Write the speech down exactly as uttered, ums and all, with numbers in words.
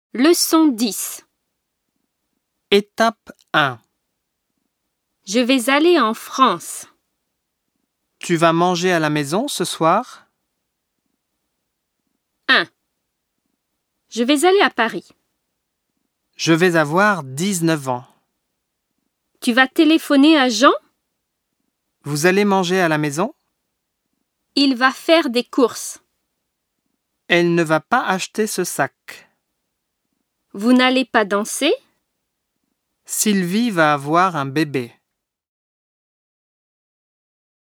Leçon dix. Étape un. Je vais aller en France. Tu vas manger à la maison ce soir? un. Je vais aller à Paris. Je vais avoir dix-neuf ans. Tu vas téléphoner à Jean? Vous allez manger à la maison? Il va faire des courses. Elle ne va pas acheter ce sac. Vous n'allez pas danser? Sylvie va avoir un bébé.